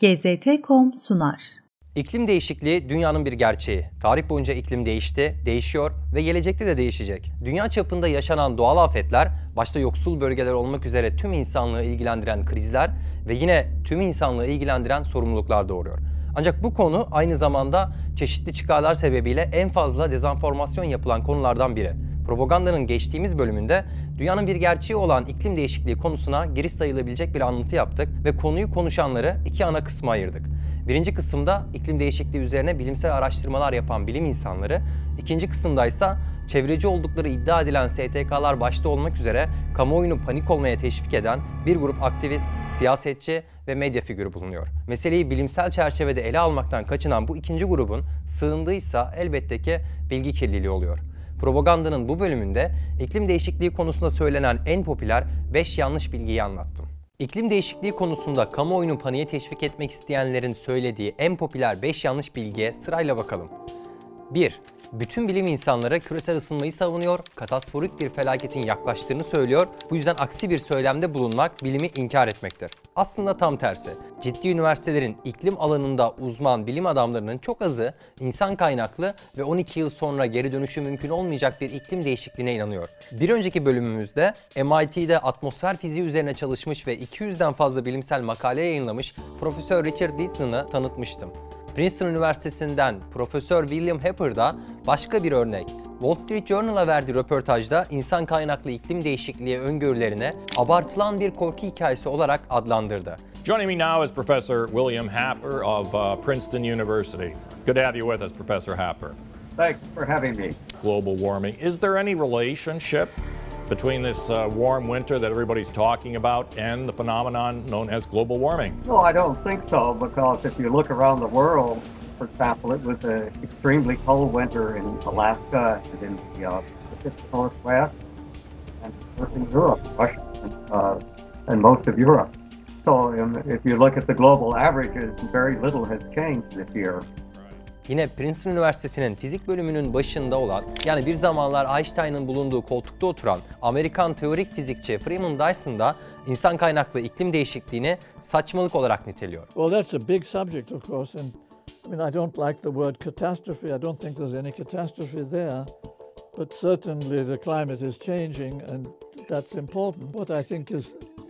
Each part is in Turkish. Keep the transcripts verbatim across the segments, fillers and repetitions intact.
G Z T nokta com sunar. İklim değişikliği dünyanın bir gerçeği. Tarih boyunca iklim değişti, değişiyor ve gelecekte de değişecek. Dünya çapında yaşanan doğal afetler, başta yoksul bölgeler olmak üzere tüm insanlığı ilgilendiren krizler ve yine tüm insanlığı ilgilendiren sorumluluklar doğuruyor. Ancak bu konu aynı zamanda çeşitli çıkarlar sebebiyle en fazla dezenformasyon yapılan konulardan biri. Propagandanın geçtiğimiz bölümünde dünyanın bir gerçeği olan iklim değişikliği konusuna giriş sayılabilecek bir anlatı yaptık ve konuyu konuşanları iki ana kısma ayırdık. Birinci kısımda iklim değişikliği üzerine bilimsel araştırmalar yapan bilim insanları, ikinci kısımda ise çevreci oldukları iddia edilen S T K'lar başta olmak üzere kamuoyunu panik olmaya teşvik eden bir grup aktivist, siyasetçi ve medya figürü bulunuyor. Meseleyi bilimsel çerçevede ele almaktan kaçınan bu ikinci grubun sığındığıysa elbette ki bilgi kirliliği oluyor. Propagandanın bu bölümünde iklim değişikliği konusunda söylenen en popüler beş yanlış bilgiyi anlattım. İklim değişikliği konusunda kamuoyunu paniğe teşvik etmek isteyenlerin söylediği en popüler beş yanlış bilgiye sırayla bakalım. bir. Bütün bilim insanları küresel ısınmayı savunuyor, katastrofi bir felaketin yaklaştığını söylüyor, bu yüzden aksi bir söylemde bulunmak bilimi inkar etmektir. Aslında tam tersi. Ciddi üniversitelerin iklim alanında uzman bilim adamlarının çok azı insan kaynaklı ve on iki yıl sonra geri dönüşü mümkün olmayacak bir iklim değişikliğine inanıyor. Bir önceki bölümümüzde M I T'de atmosfer fiziği üzerine çalışmış ve iki yüzden fazla bilimsel makale yayınlamış Profesör Richard Didson'ı tanıtmıştım. Princeton Üniversitesi'nden Profesör William Hepper da başka bir örnek. Wall Street Journal'a verdiği röportajda insan kaynaklı iklim değişikliği öngörülerine abartılan bir korku hikayesi olarak adlandırdı. Joining me now is Professor William Happer of uh, Princeton University. Good to have you with us, Professor Happer. Thanks for having me. Global warming. Is there any relationship between this uh, warm winter that everybody's talking about and the phenomenon known as global warming? No, I don't think so, because if you look around the world, for example, it was an extremely cold winter in Alaska and in the uh, Pacific Northwest and in Europe, Russia, and, uh, and most of Europe. So um, if you look at the global averages, very little has changed this year. Yine Princeton Üniversitesi'nin fizik bölümünün başında olan, yani bir zamanlar Einstein'ın bulunduğu koltukta oturan Amerikan teorik fizikçi Freeman Dyson da insan kaynaklı iklim değişikliğini saçmalık olarak niteliyor. Well, that's a big subject, of course, and I mean, I don't like the word catastrophe. I don't think there's any catastrophe there, but certainly the climate is changing, and that's important. What I think is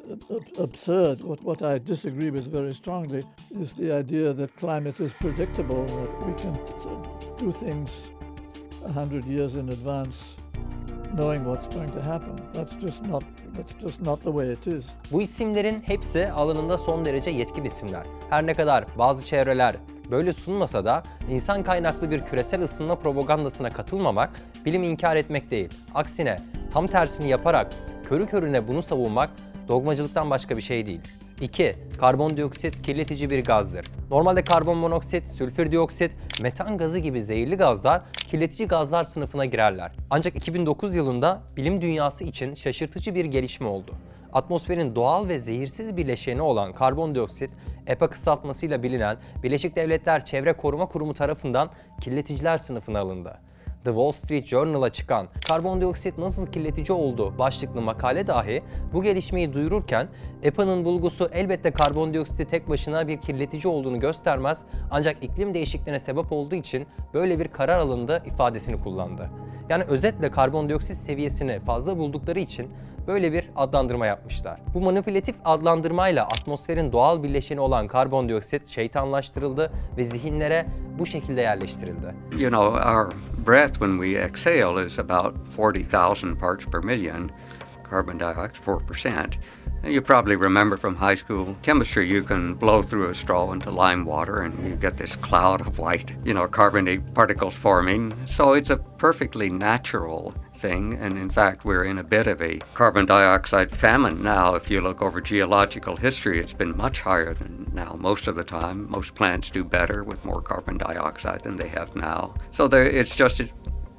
absurd, what, what I disagree with very strongly, is the idea that climate is predictable, that we can do things a hundred years in advance, knowing what's going to happen. That's just not, that's just not the way it is. Bu isimlerin hepsi alanında son derece yetkin isimler. Her ne kadar bazı çevreler böyle sunmasa da insan kaynaklı bir küresel ısınma propagandasına katılmamak, bilimi inkar etmek değil. Aksine tam tersini yaparak körü körüne bunu savunmak dogmacılıktan başka bir şey değil. iki. Karbondioksit kirletici bir gazdır. Normalde karbon monoksit, sülfür dioksit, metan gazı gibi zehirli gazlar kirletici gazlar sınıfına girerler. Ancak iki bin dokuz yılında bilim dünyası için şaşırtıcı bir gelişme oldu. Atmosferin doğal ve zehirsiz bileşeni olan karbondioksit, E P A kısaltmasıyla bilinen Birleşik Devletler Çevre Koruma Kurumu tarafından kirleticiler sınıfına alındı. The Wall Street Journal'a çıkan "Karbondioksit nasıl kirletici oldu?" başlıklı makale dahi bu gelişmeyi duyururken E P A'nın bulgusu elbette karbondioksiti tek başına bir kirletici olduğunu göstermez, ancak iklim değişikliğine sebep olduğu için böyle bir karar alındı ifadesini kullandı. Yani özetle karbondioksit seviyesini fazla buldukları için böyle bir adlandırma yapmışlar. Bu manipülatif adlandırmayla atmosferin doğal bileşeni olan karbondioksit şeytanlaştırıldı ve zihinlere bu şekilde yerleştirildi. You know, our breath when we exhale is about forty thousand parts per million, carbon dioxide four percent. You probably remember from high school chemistry, you can blow through a straw into lime water and you get this cloud of white, you know, carbonate particles forming. So it's a perfectly natural thing, and in fact we're in a bit of a carbon dioxide famine now. If you look over geological history, it's been much higher than now most of the time. Most plants do better with more carbon dioxide than they have now. So there, it's just a,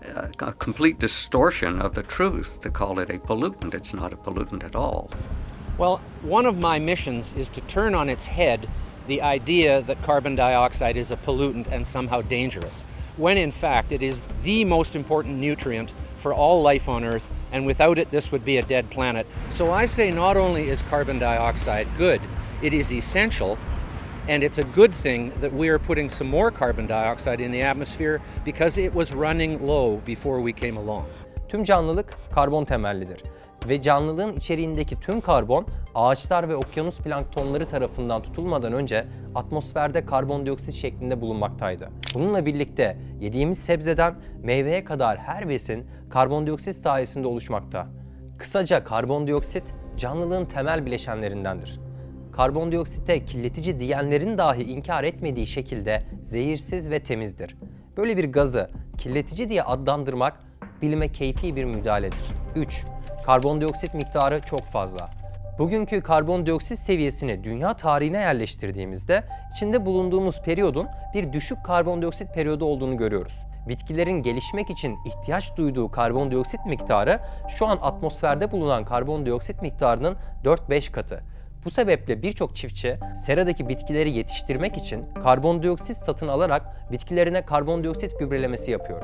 a complete distortion of the truth to call it a pollutant. It's not a pollutant at all. Well, one of my missions is to turn on its head the idea that carbon dioxide is a pollutant and somehow dangerous, when in fact it is the most important nutrient for all life on Earth, and without it this would be a dead planet. So I say not only is carbon dioxide good, it is essential, And it's a good thing that we are putting some more carbon dioxide in the atmosphere because it was running low before we came along. Tüm canlılık karbon temellidir ve canlılığın içeriğindeki tüm karbon ağaçlar ve okyanus planktonları tarafından tutulmadan önce atmosferde karbondioksit şeklinde bulunmaktaydı. Bununla birlikte yediğimiz sebzeden meyveye kadar her besin karbondioksit sayesinde oluşmakta. Kısaca karbondioksit canlılığın temel bileşenlerindendir. Karbondioksite kirletici diyenlerin dahi inkar etmediği şekilde zehirsiz ve temizdir. Böyle bir gazı kirletici diye adlandırmak bilime keyfi bir müdahaledir. üç. Karbondioksit miktarı çok fazla. Bugünkü karbondioksit seviyesini dünya tarihine yerleştirdiğimizde içinde bulunduğumuz periyodun bir düşük karbondioksit periyodu olduğunu görüyoruz. Bitkilerin gelişmek için ihtiyaç duyduğu karbondioksit miktarı şu an atmosferde bulunan karbondioksit miktarının dört beş katı. Bu sebeple birçok çiftçi seradaki bitkileri yetiştirmek için karbondioksit satın alarak bitkilerine karbondioksit gübrelemesi yapıyor.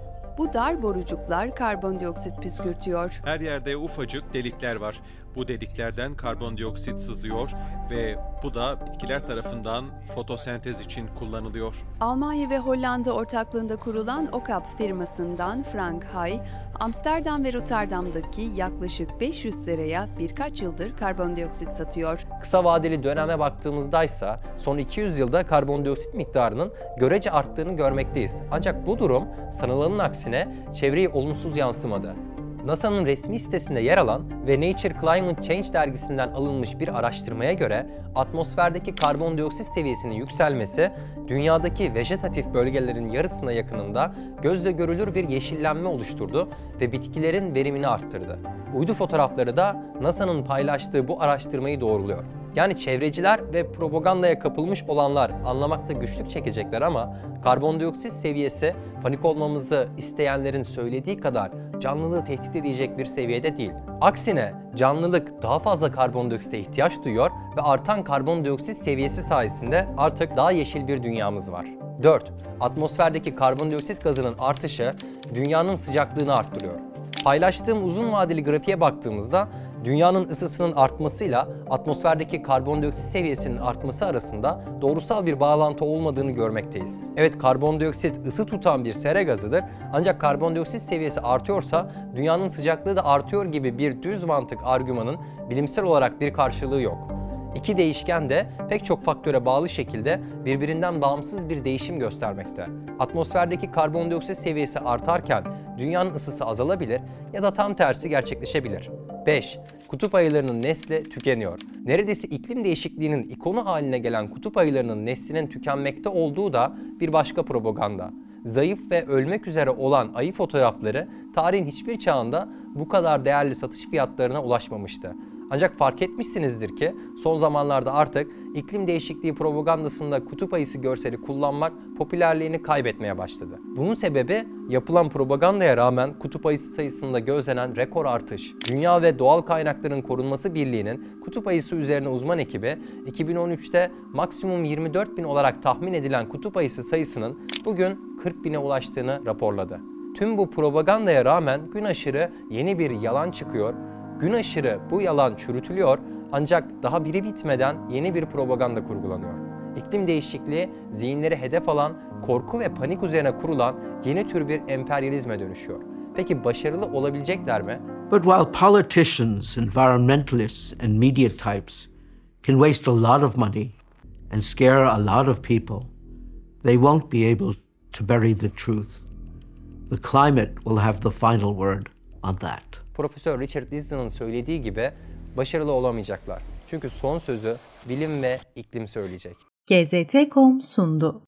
Bu dar borucuklar karbondioksit püskürtüyor. Her yerde ufacık delikler var. Bu deliklerden karbondioksit sızıyor ve bu da bitkiler tarafından fotosentez için kullanılıyor. Almanya ve Hollanda ortaklığında kurulan Okap firmasından Frank Hay, Amsterdam ve Rotterdam'daki yaklaşık beş yüz seraya birkaç yıldır karbondioksit satıyor. Kısa vadeli döneme baktığımızda ise son iki yüz yılda karbondioksit miktarının görece arttığını görmekteyiz. Ancak bu durum sanılanın aksine çevreye olumsuz yansımadı. NASA'nın resmi sitesinde yer alan ve Nature Climate Change dergisinden alınmış bir araştırmaya göre atmosferdeki karbondioksit seviyesinin yükselmesi dünyadaki vejetatif bölgelerin yarısına yakınında gözle görülür bir yeşillenme oluşturdu ve bitkilerin verimini arttırdı. Uydu fotoğrafları da NASA'nın paylaştığı bu araştırmayı doğruluyor. Yani çevreciler ve propagandaya kapılmış olanlar anlamakta güçlük çekecekler ama karbondioksit seviyesi panik olmamızı isteyenlerin söylediği kadar canlılığı tehdit edecek bir seviyede değil. Aksine canlılık daha fazla karbondioksite ihtiyaç duyuyor ve artan karbondioksit seviyesi sayesinde artık daha yeşil bir dünyamız var. dört. Atmosferdeki karbondioksit gazının artışı dünyanın sıcaklığını arttırıyor. Paylaştığım uzun vadeli grafiğe baktığımızda dünyanın ısısının artmasıyla atmosferdeki karbondioksit seviyesinin artması arasında doğrusal bir bağlantı olmadığını görmekteyiz. Evet, karbondioksit ısı tutan bir sera gazıdır ancak karbondioksit seviyesi artıyorsa dünyanın sıcaklığı da artıyor gibi bir düz mantık argümanın bilimsel olarak bir karşılığı yok. İki değişken de pek çok faktöre bağlı şekilde birbirinden bağımsız bir değişim göstermekte. Atmosferdeki karbondioksit seviyesi artarken dünyanın ısısı azalabilir ya da tam tersi gerçekleşebilir. beş. Kutup ayılarının nesli tükeniyor. Neredeyse iklim değişikliğinin ikonu haline gelen kutup ayılarının neslinin tükenmekte olduğu da bir başka propaganda. Zayıf ve ölmek üzere olan ayı fotoğrafları tarihin hiçbir çağında bu kadar değerli satış fiyatlarına ulaşmamıştı. Ancak fark etmişsinizdir ki son zamanlarda artık iklim değişikliği propagandasında kutup ayısı görseli kullanmak popülerliğini kaybetmeye başladı. Bunun sebebi yapılan propagandaya rağmen kutup ayısı sayısında gözlenen rekor artış. Dünya ve Doğal Kaynakların Korunması Birliği'nin kutup ayısı üzerine uzman ekibi iki bin on üçte maksimum yirmi dört bin olarak tahmin edilen kutup ayısı sayısının bugün kırk bine ulaştığını raporladı. Tüm bu propagandaya rağmen gün aşırı yeni bir yalan çıkıyor. Gün aşırı bu yalan çürütülüyor ancak daha biri bitmeden yeni bir propaganda kurgulanıyor. İklim değişikliği zihinleri hedef alan, korku ve panik üzerine kurulan yeni tür bir emperyalizme dönüşüyor. Peki başarılı olabilecekler mi? But while politicians, environmentalists and media types can waste a lot of money and scare a lot of people, they won't be able to bury the truth. The climate will have the final word on that. Profesör Richard Liston'ın söylediği gibi başarılı olamayacaklar. Çünkü son sözü bilim ve iklim söyleyecek. G Z T nokta com sundu.